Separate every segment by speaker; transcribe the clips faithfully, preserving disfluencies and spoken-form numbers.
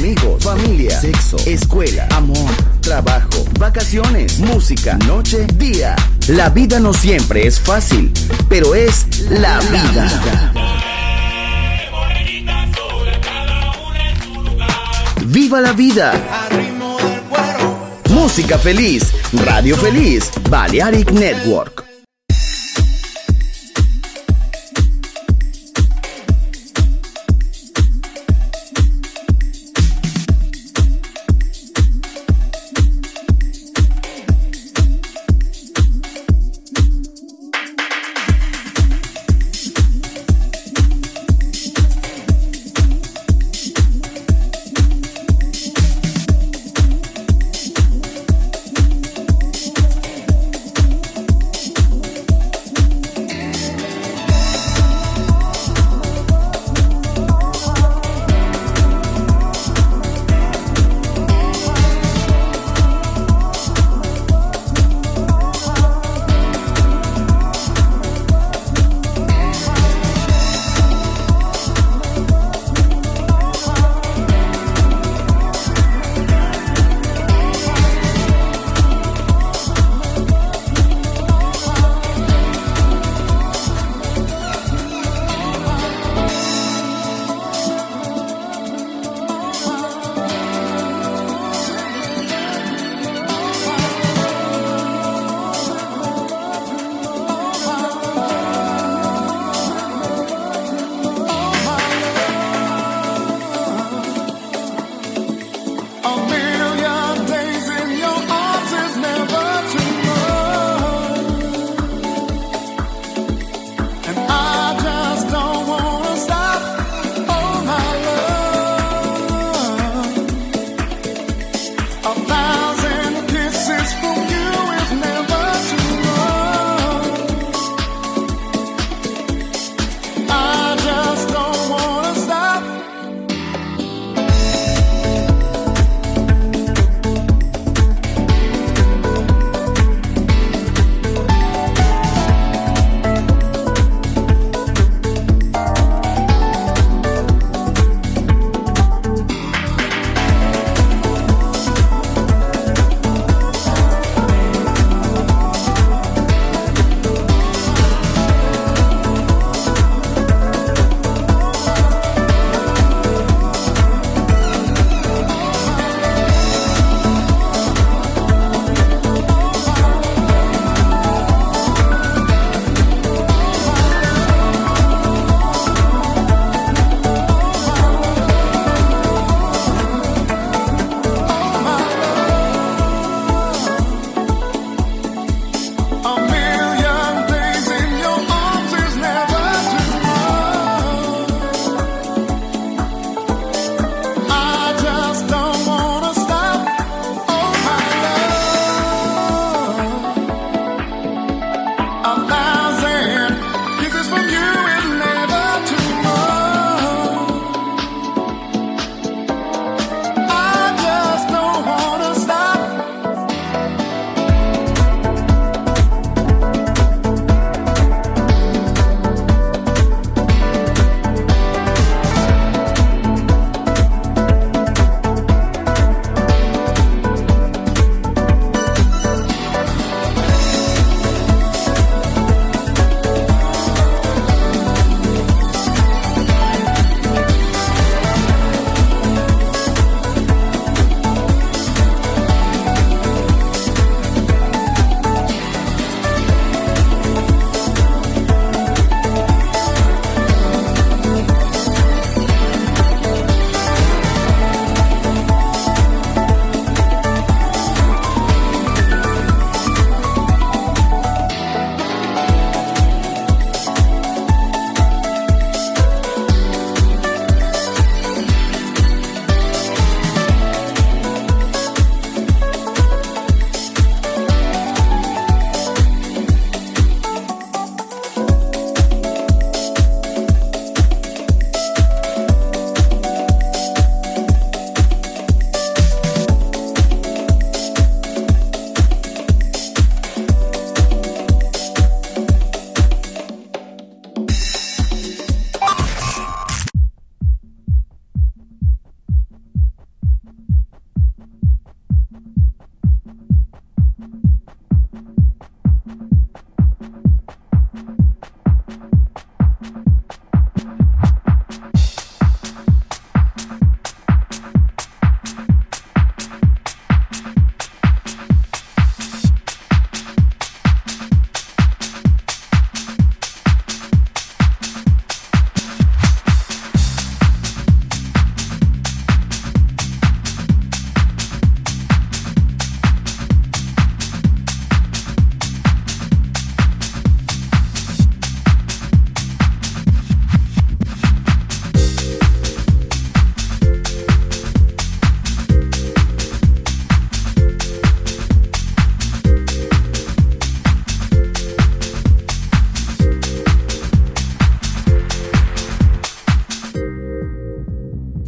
Speaker 1: amigos, familia, sexo, escuela, amor, trabajo, vacaciones, música, noche, día. La vida no siempre es fácil, pero es la vida. ¡Viva la vida! Música feliz, radio feliz, Balearic Network.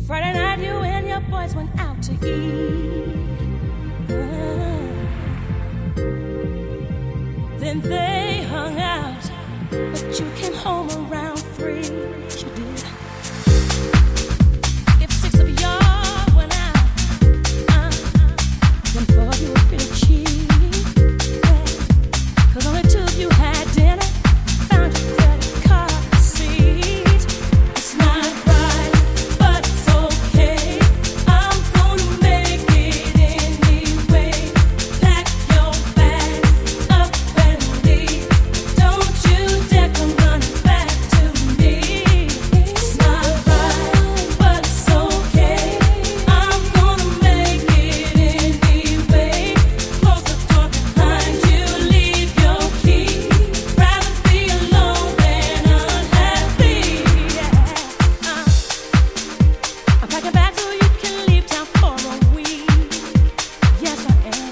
Speaker 2: Friday night you and your boys went out to eat. Uh, then they hung out, but you came home around three. You did. If six of y'all went out, uh, then four of you were pretty cheap. Yeah. 'Cause only two of you had dinner. Found your credit card receipt. It's not right, but it's okay. I'm gonna make it anyway. Pack your bags up and leave. Don't you dare come running back to me. It's not right, but it's okay. I'm gonna make it anyway. Close the door behind you, leave your key. Rather be alone than unhappy. Yeah. Uh. I'm packing back so you can leave town for a week. Yes, I am.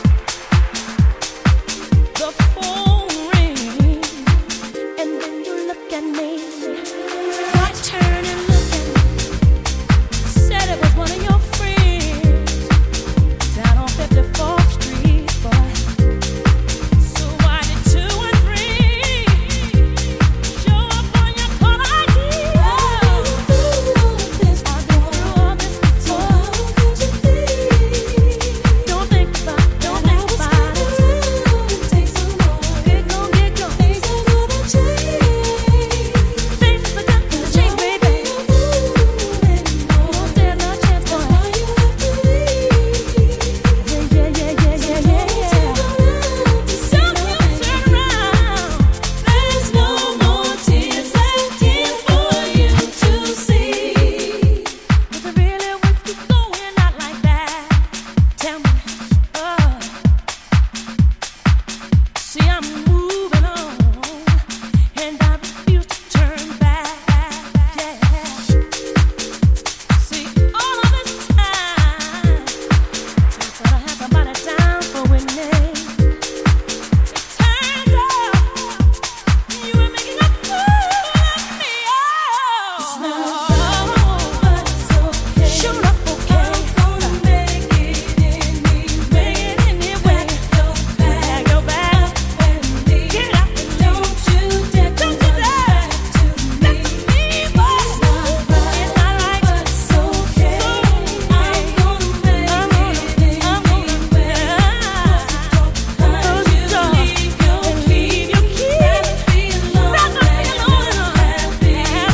Speaker 2: The phone rings, and then you look at me. I turn and look at me. Said it was one of your friends down on fifty-fourth Street, boy. So why did two and three show up on your caller I D? I've been through all this before. How could you think? Don't think about, don't think about it. Take some more. Get gone, get gone. Things are gonna change. Things are gonna change, baby. Don't stand no chance, boy. Why you have to leave? Yeah, yeah, yeah, yeah, yeah, yeah, yeah. Don't you turn around. There's no more tears left in for you to see. Was it really worth you going out like that? Tell me. Oh. See, I'm moving on, and I refuse to turn back. Yeah. See, all of this time, I thought I had somebody down for winning. It turns out you were making a fool of me. Oh. It's not right, but it's okay. Sure up, okay. I'm gonna make it anyway. Make it anyway. Pack your bags and leave. Get up and don't you dare come back to me. Boy. It's not right, it's not right, but it's okay. I'm gonna make it anyway. Close the door and leave your key. Rather be alone than unhappy.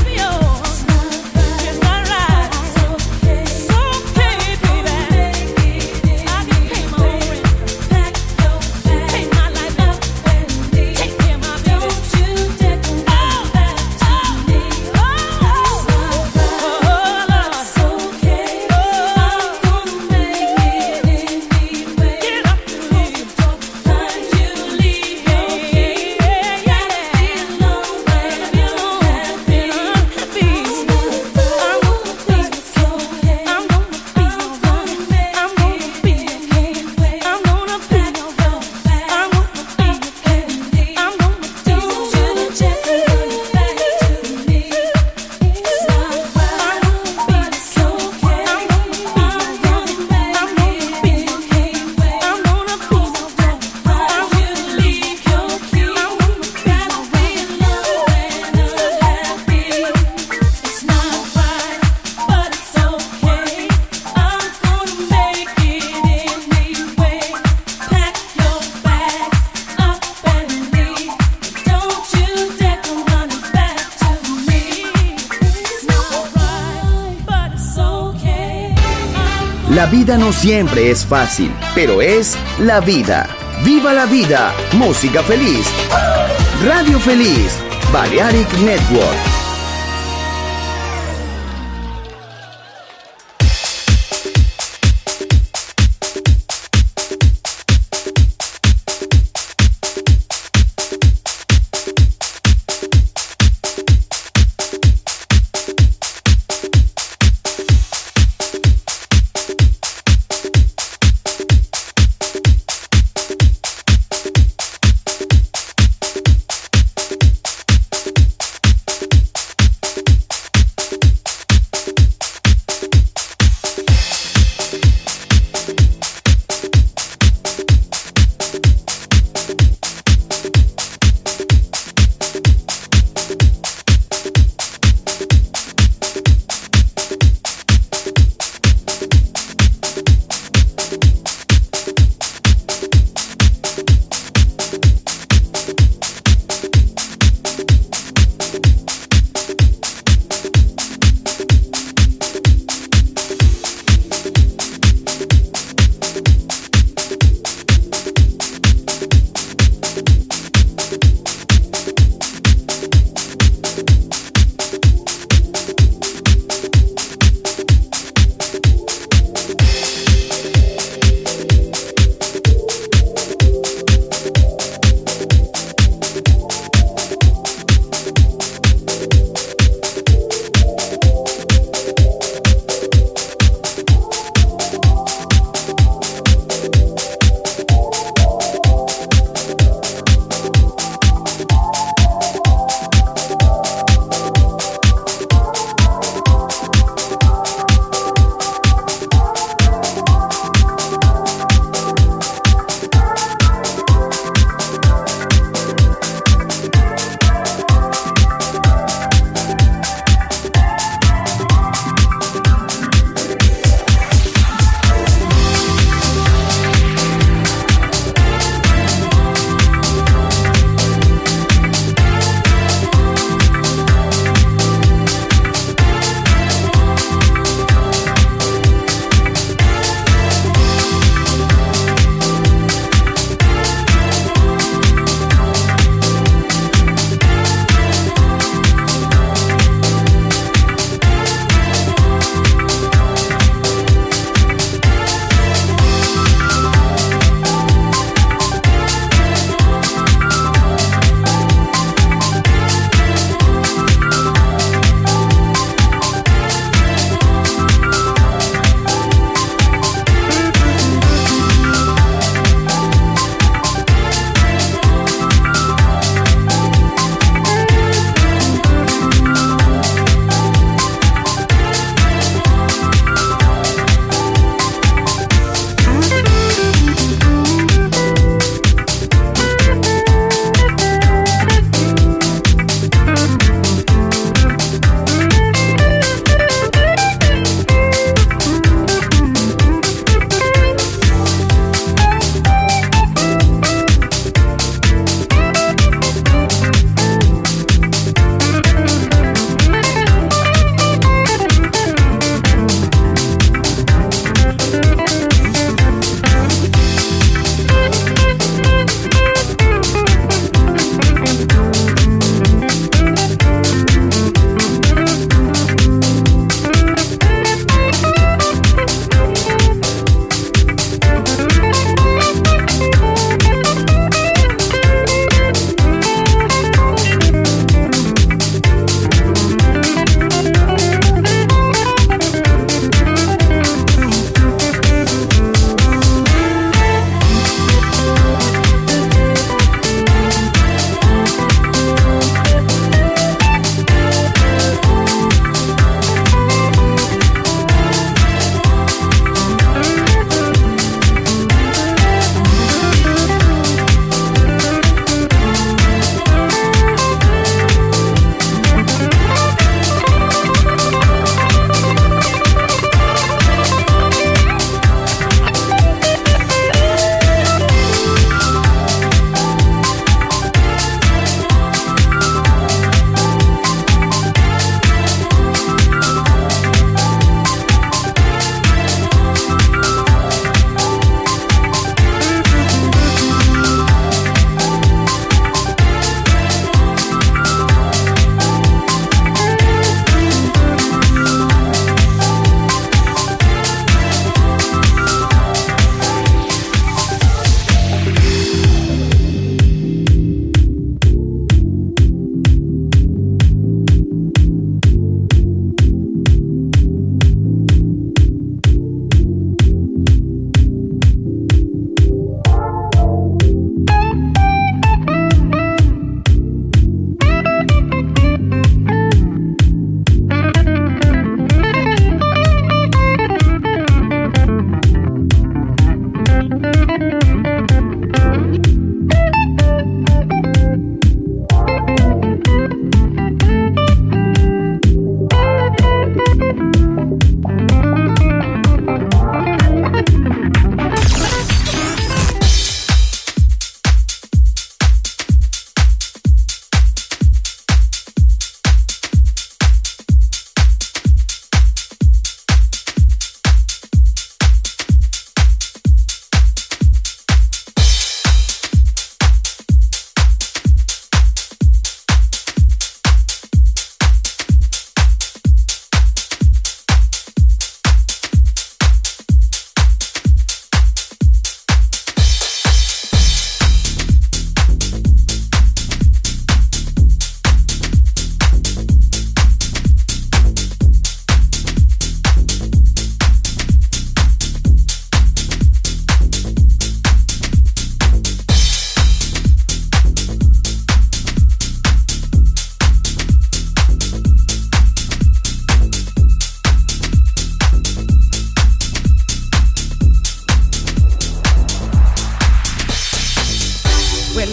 Speaker 2: It's not right, it's okay. It's okay, baby. I can pay my own rent. Pack your bags, pay my light bill, and leave. Take care of my baby. Don't you dare come back to me. It's not right, but it's okay. I'm gonna make it anyway. Get up and leave. Close the door behind you, leave your key. Rather be alone than unhappy. It's not right, but it's okay. I'm gonna be your one. I'm gonna be your king. I'm gonna be your one. I'm gonna be your king. I'm gonna do you check back to me. It's not right, but it's okay. I'm gonna be your one. I'm gonna be your king. I'm gonna be your one. I'm gonna leave your key. I'm gonna rather be alone than unhappy. It's not right, but it's okay. I'm gonna make it anyway. Pack your bags up and leave. Don't you dare come running back to me. It's not right, but it's okay.
Speaker 1: La vida no siempre es fácil, pero es la vida. ¡Viva la vida! Música feliz. Radio Feliz. Balearic Network.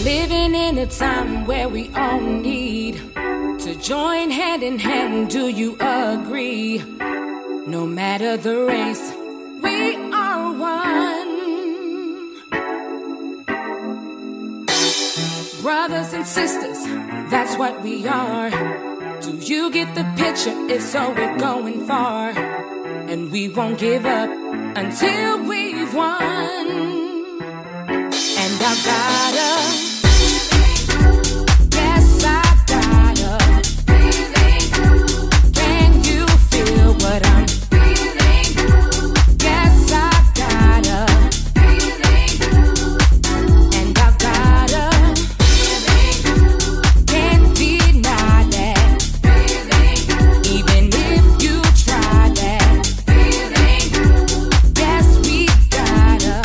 Speaker 2: living in a time where we all need to join hand in hand. Do you agree? No matter the race, we are one. Brothers and sisters, that's what we are. Do you get the picture? If so, we're going far. And we won't give up until we've won. And I've gotta, yes, I've gotta, can you feel what I'm feeling? Yes, I've gotta, and I've gotta, can't deny that, even if you try that, yes, we gotta,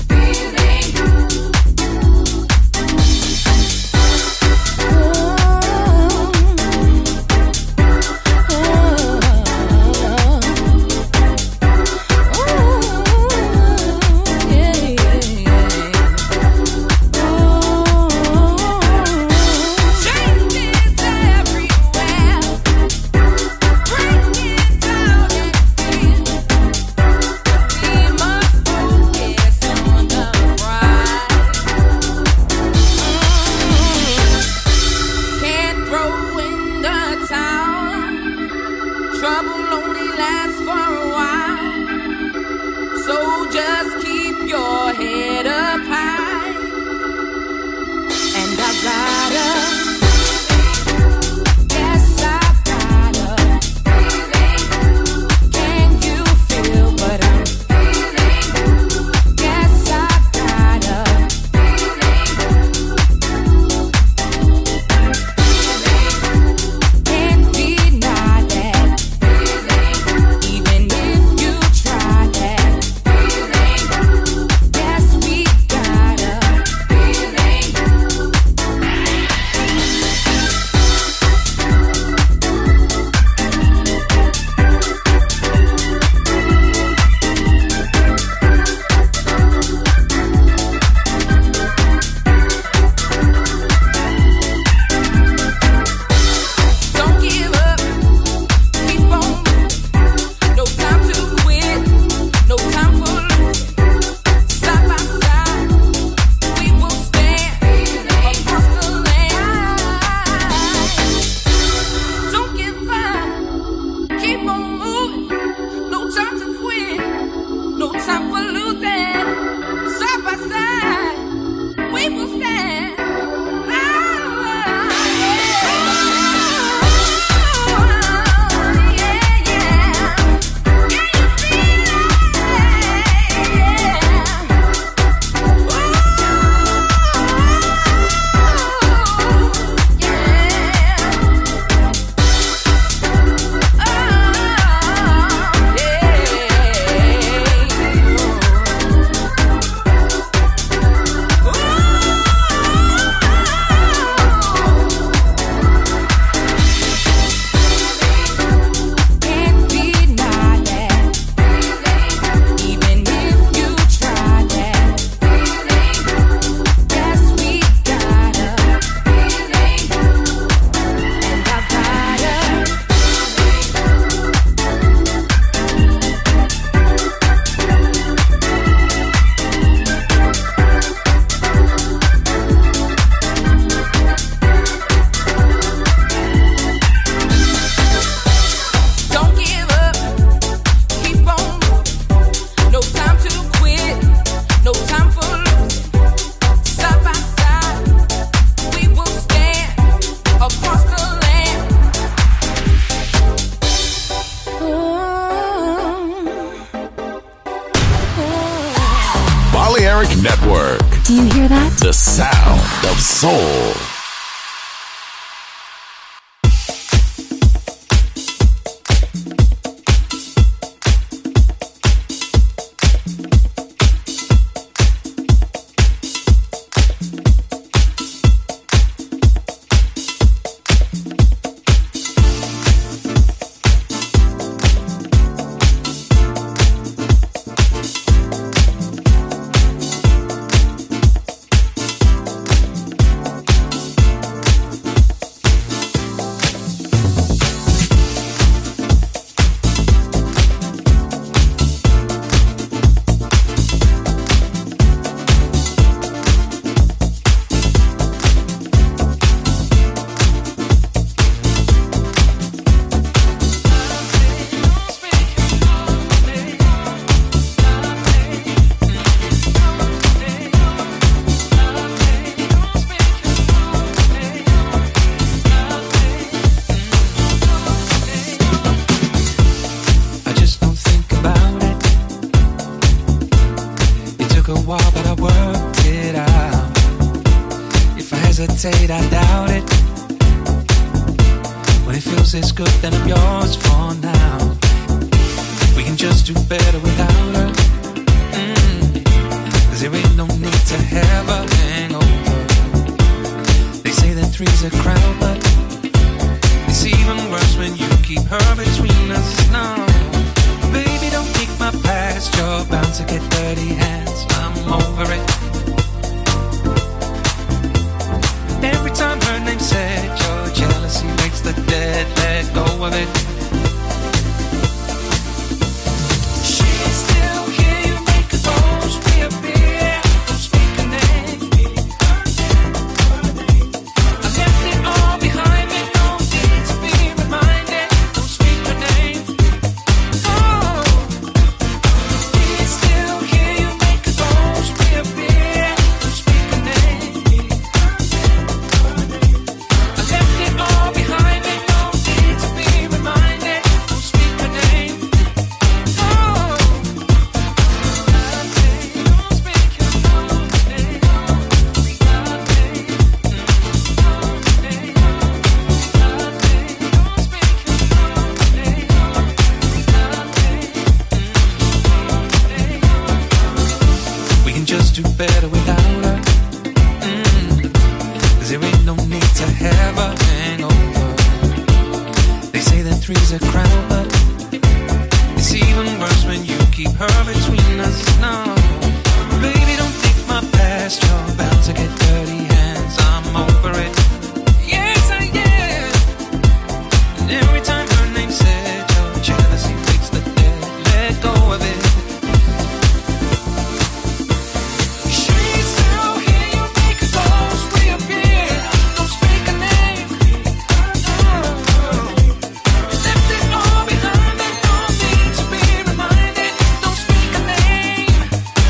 Speaker 2: trouble only lasts for a while, so just keep your head up high. And I've gotta, yes, I've gotta, can you feel what I'm feeling? Yes, I've gotta, can't deny that. Even if you try that, yes, we gotta, don't give up, keep on moving. No time to quit, no time for losing. Side by side, we will stand across the land. Don't give up, keep on moving. No time to quit, no time for losing. Side by side, we will stand. Ah, yeah, yeah. Can you feel it? Can't deny that, even if you try that, yes, we gotta, and I've gotta, don't give up, keep on moving. No time to quit, no time for losing. Side by side, we will stand across the land.
Speaker 3: Balearic Network,
Speaker 4: Do you hear that?
Speaker 3: the sound of soul.
Speaker 4: hesitate, I doubt it. When it feels this good, then I'm yours for now. We can just do better without her. Mm. Cause there ain't no need to have a hangover. They say that three's a crowd, but it's even worse when you keep her between us. No, baby, don't kick my past. You're bound to get dirty hands. I'm over it. Every time her name's said, your jealousy makes the dead let go of it. She's still here, you make a ghost reappear. Don't speak her name. I left it all behind me, no need to be reminded. Don't speak her name. Oh, she's still here, you make a ghost reappear. Don't speak her name. I left it all behind me, no need to be reminded. Don't speak her name. Oh, don't speak her name. We can just do better without her. Mm. Cause there ain't no need to have a hangover. They say that three's a crowd, but it's even worse when you keep her between us. No, baby, don't think my past. You're bound to get dirty hands. I'm over it. Yes, I am. And every time her name's said, your jealousy makes the dead let go of it. She's still here, you make a ghost reappear. Don't speak her name. Oh, left it all behind me, no need to be reminded. Don't speak her name.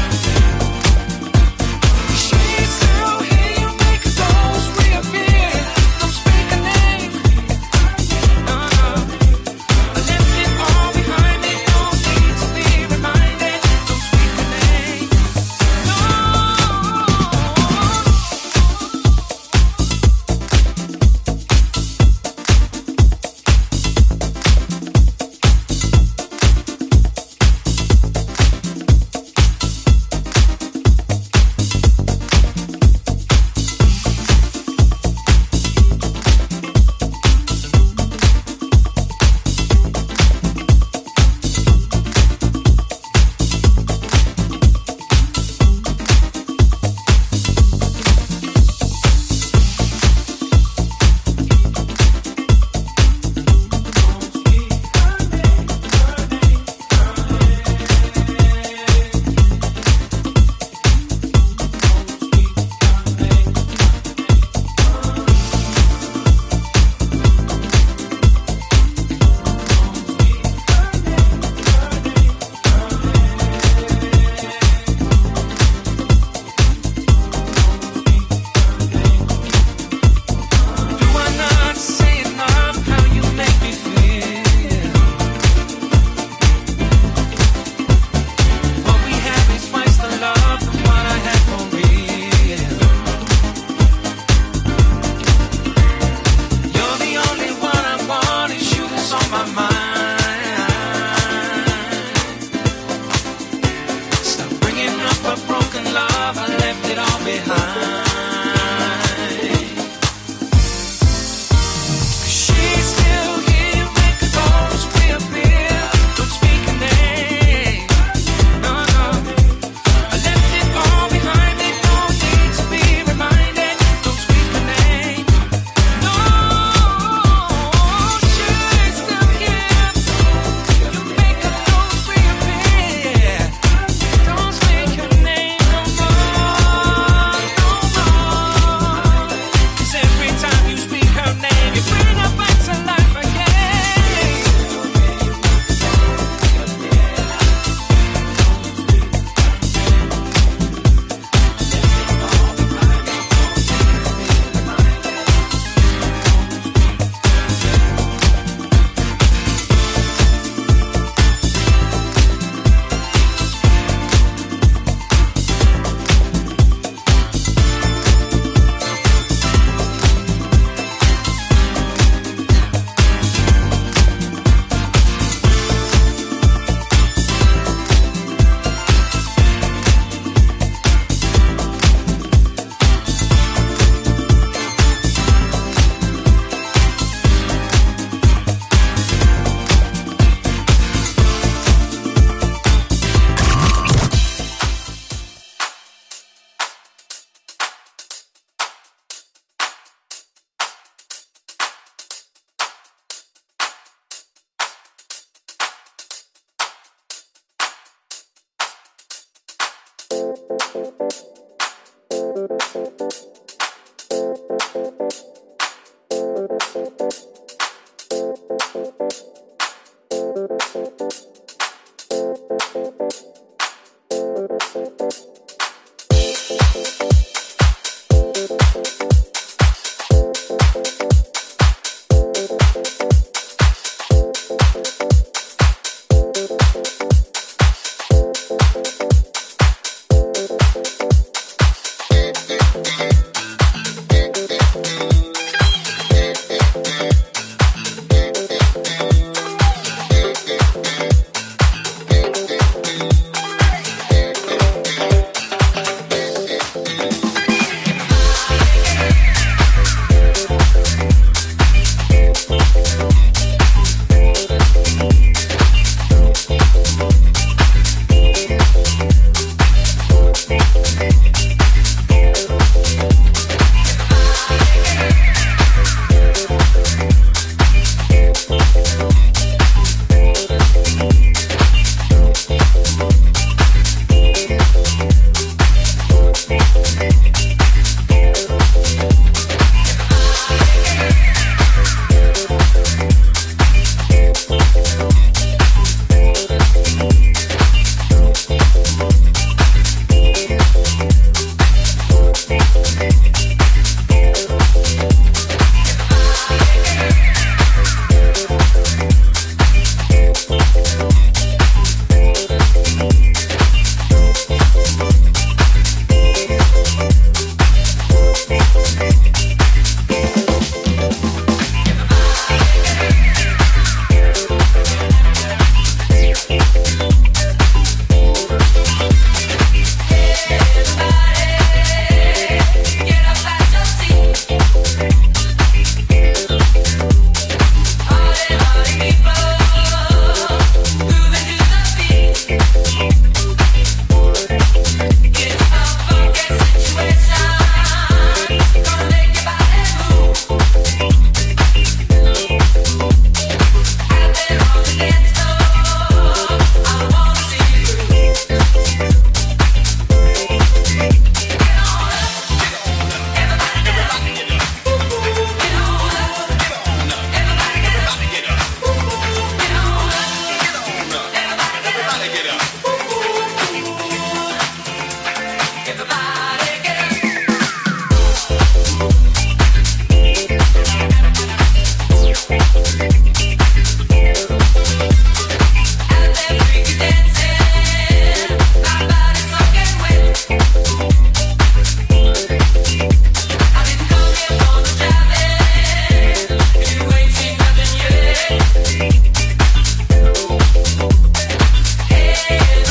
Speaker 2: Yeah.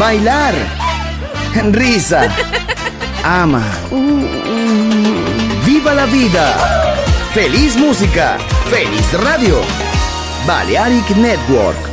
Speaker 1: bailar, risa, ama, viva la vida, feliz música, feliz radio, Balearic Network.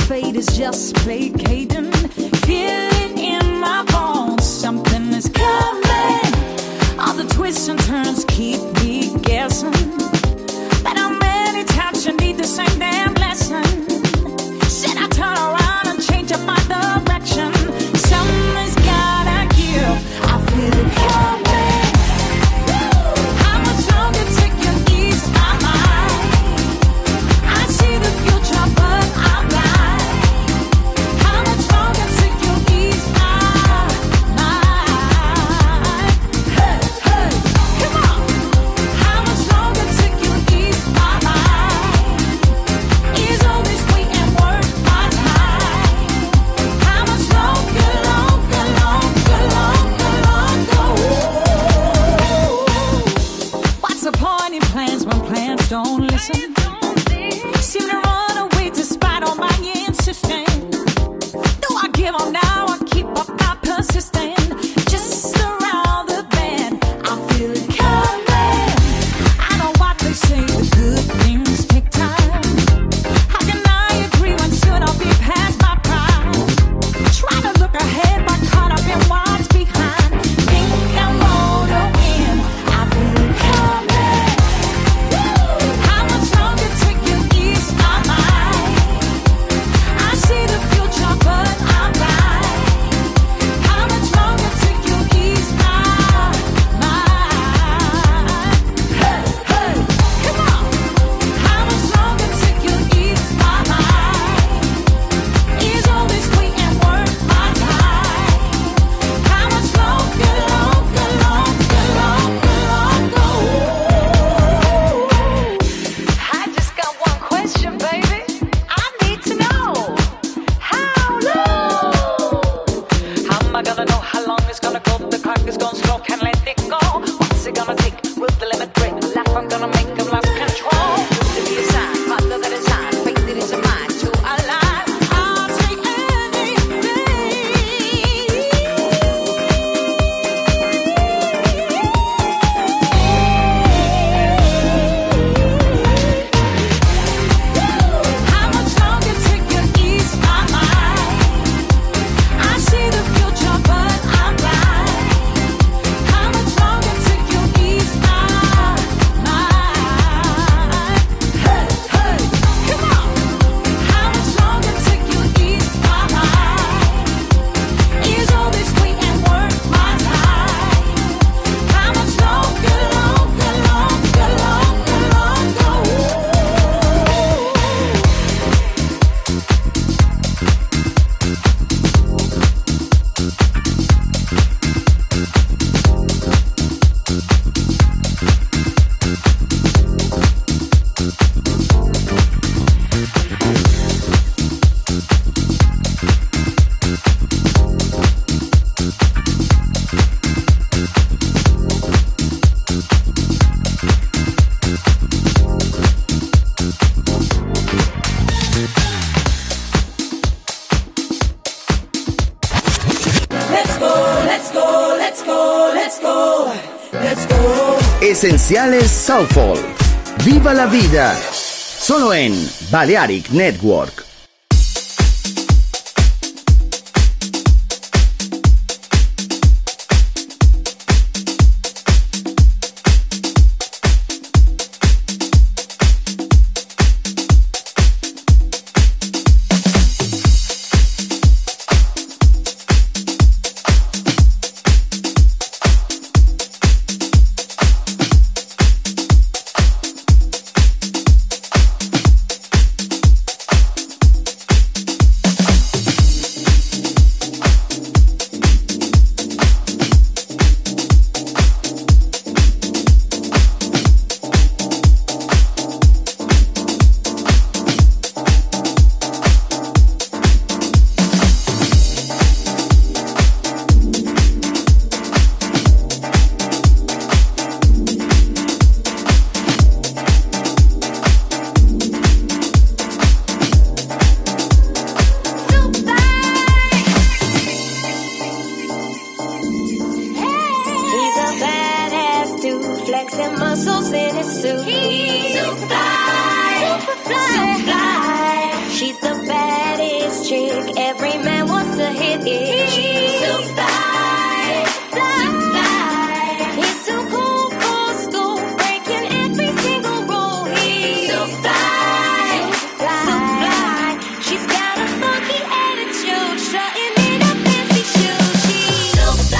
Speaker 2: fate is just placating. Feel it in my bones, something is coming. All the twists and turns keep me guessing. But how many times you need the same damn lesson? Should I turn around and change up my direction? Something's gotta give, I feel it coming. How much longer till you ease my mind? I see the future, but I'm blind. How much longer till you ease my mind? Hey, hey, come on. How much longer till you ease my mind? Is all this wait and worth my time? How much longer, longer, longer, longer, longer? What's the point in plans when plans don't listen? Seem to run away despite all my insisting. Do I give up now or keep up my persisting? Just around the bend, I feel it coming. I know what they say, the good things take time. How can I agree when soon I'll be past my prime? Try to look ahead, but caught up in what's behind. Think I'm gonna win, I feel it coming. How much longer till you ease my mind? I see the future, but I'm blind. How much longer till you ease my mind? Hey, hey, come on. How much longer till you ease my mind? Is all this wait and worth my time? How much longer, longer, longer, longer, longer? I just got one question, baby. I need to know how long. How am I gonna know how long it's gonna go? The clock is gonna slow, can't let it go. What's it gonna take? Will the limit break? Life I'm gonna make them lost control. To be a sign, father that is on, faith that is a mind to align. I'll take How much longer till you ease my mind? I see the future, but I'm blind. How much longer till you ease my mind? Hey, hey, come on. How much longer till you ease my mind? Is all this wait and worth my time? How much longer, longer, longer, longer, longer? Let's go, let's go, let's go, let's go, let's go.
Speaker 1: Esenciales Soulful. Viva la vida. Solo en Balearic Network.
Speaker 5: flexing muscles in his suit. He's so fly, super fly, so fly. She's the baddest. every man wants to hit it. She's so fly, so fly. He's too cool for school, breaking every single rule. He's so fly, so fly. She's got a funky attitude, strutting in her fancy shoes. She's so fly.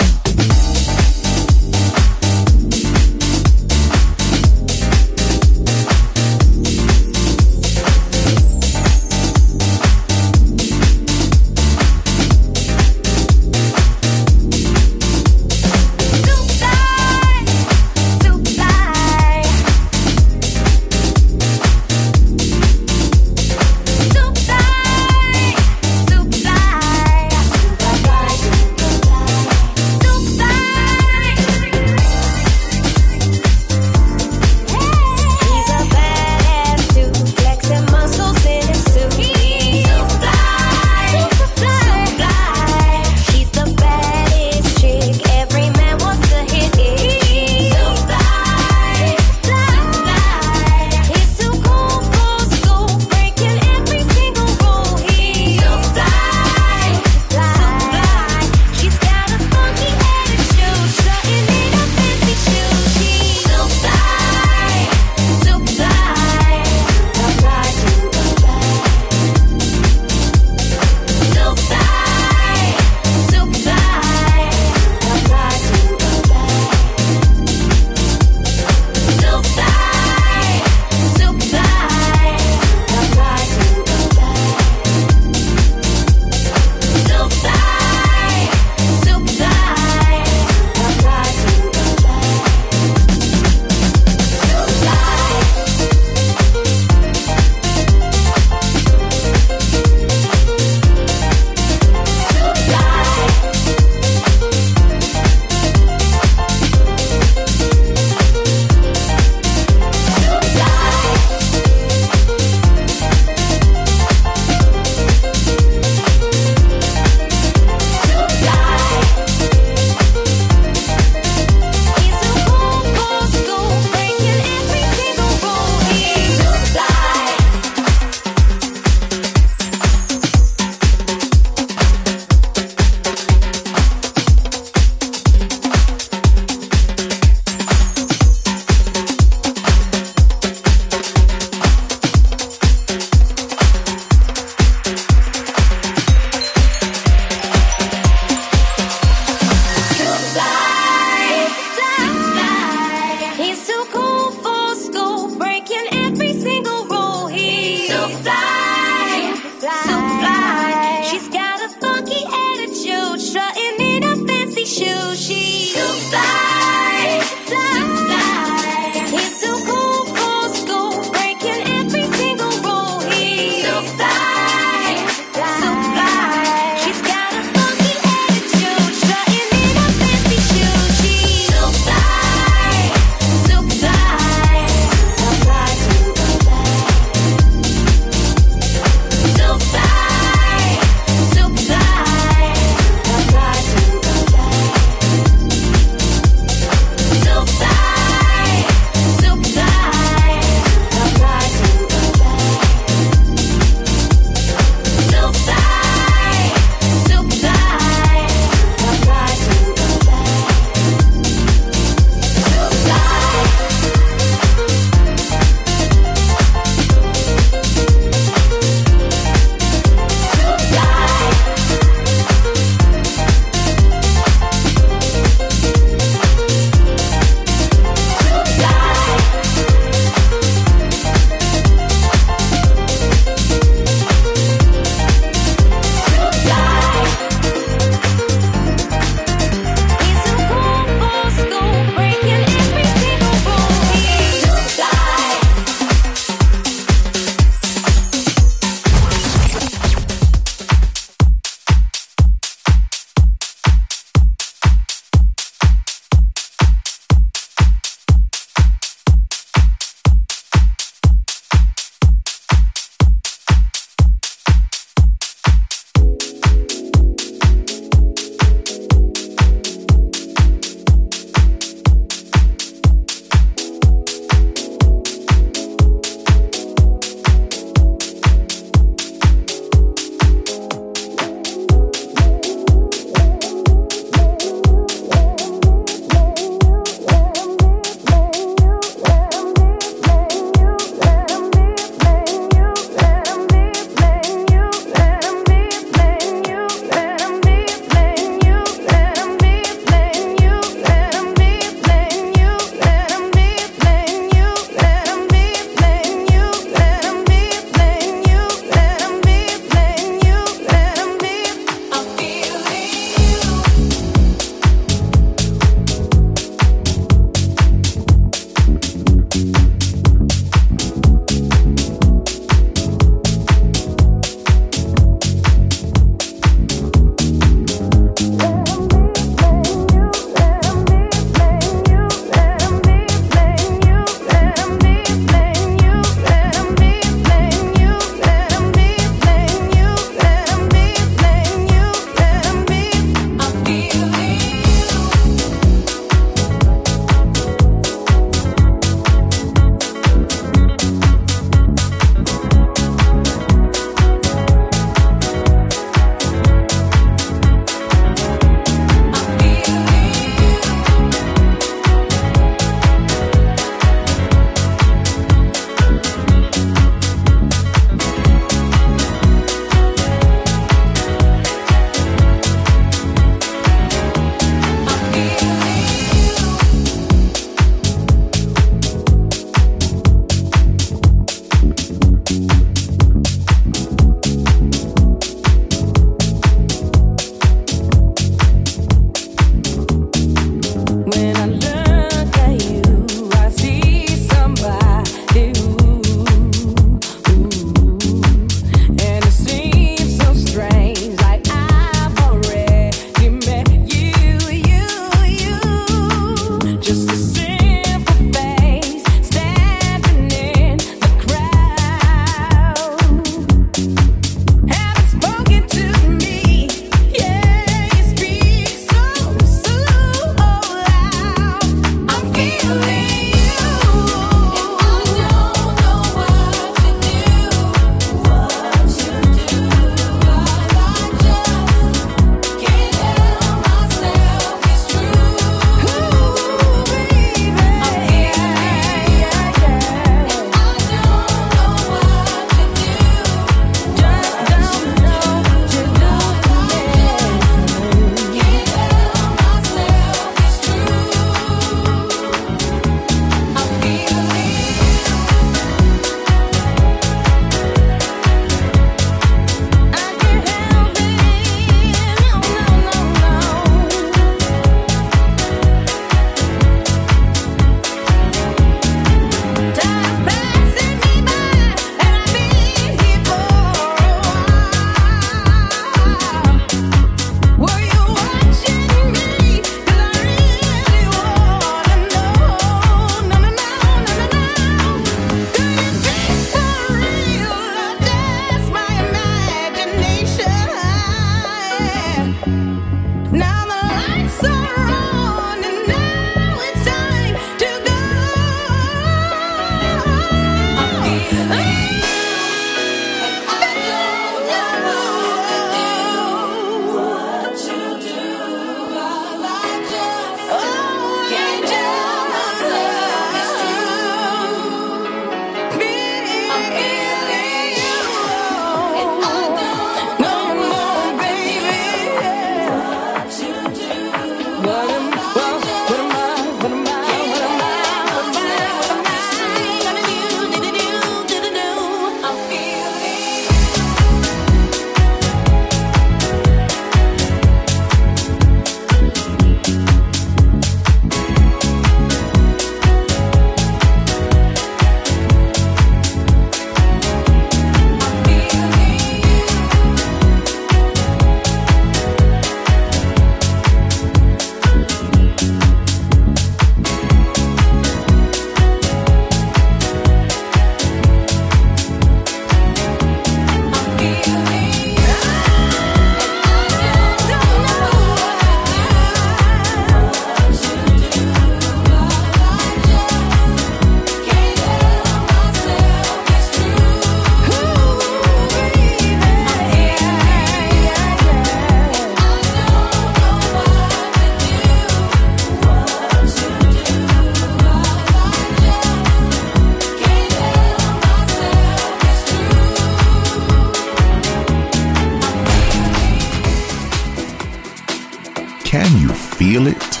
Speaker 3: Can you feel it?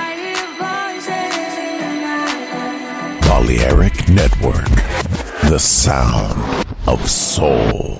Speaker 3: Balearic Network, the sound of soul.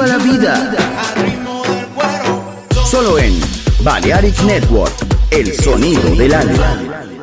Speaker 1: Viva la vida. Solo en Balearic Network, el sonido del alma.